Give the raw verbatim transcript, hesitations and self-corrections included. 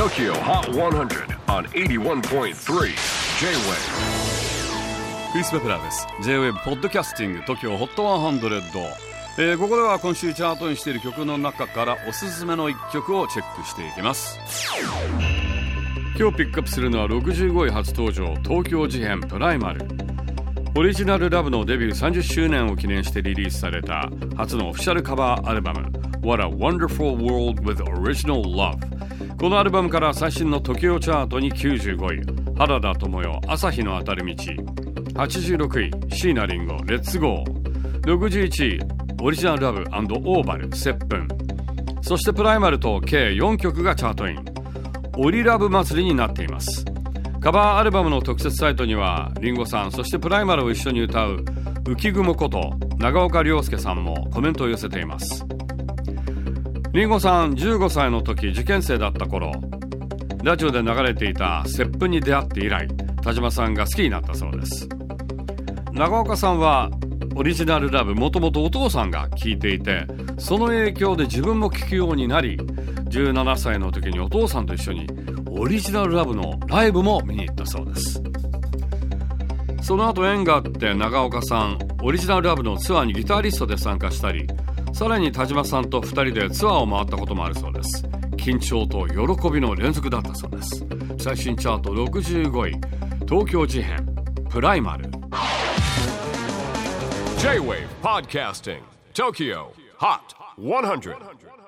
Tokyo Hot one hundred on エイティワンポイントスリー J-Wave。 クリス・ベプラーです。 J-Wave ポッドキャスティング Tokyo Hot ワンハンドレッド、えー、ここでは今週チャートにしている曲の中からおすすめのいっきょくをチェックしていきます。今日ピックアップするのはろくじゅうごい初登場、東京事変プライマル。オリジナルラブのデビューさんじゅっしゅうねんを記念してリリースされた初のオフィシャルカバーアルバム What a Wonderful World with Original Love。 このアルバムから最新の Tokyo チャートにきゅうじゅうごい、原田知世朝日の当たる道。はちじゅうろくい椎名林檎レッツゴー。ろくじゅういちいオリジナルラブ&オーバル接吻。そしてプライマルと計よんきょくがチャートイン。オリラブ祭りになっています。カバーアルバムの特設サイトにはリンゴさん、そしてプライマルを一緒に歌う浮雲こと長岡亮介さんもコメントを寄せています。リンゴさんじゅうごさいの時、受験生だった頃、ラジオで流れていた接吻に出会って以来、田島さんが好きになったそうです。長岡さんはオリジナルラブもともとお父さんが聴いていて、その影響で自分も聴くようになり、じゅうななさいの時にお父さんと一緒にオリジナルラブのライブも見に行ったそうです。その後縁があって長岡さんオリジナルラブのツアーにギタリストで参加したり、さらに田島さんとふたりでツアーを回ったこともあるそうです。緊張と喜びの連続だったそうです。最新チャートろくじゅうごい、東京事変プライマル。 J-Wave Podcasting Tokyo Hot ワンハンドレッド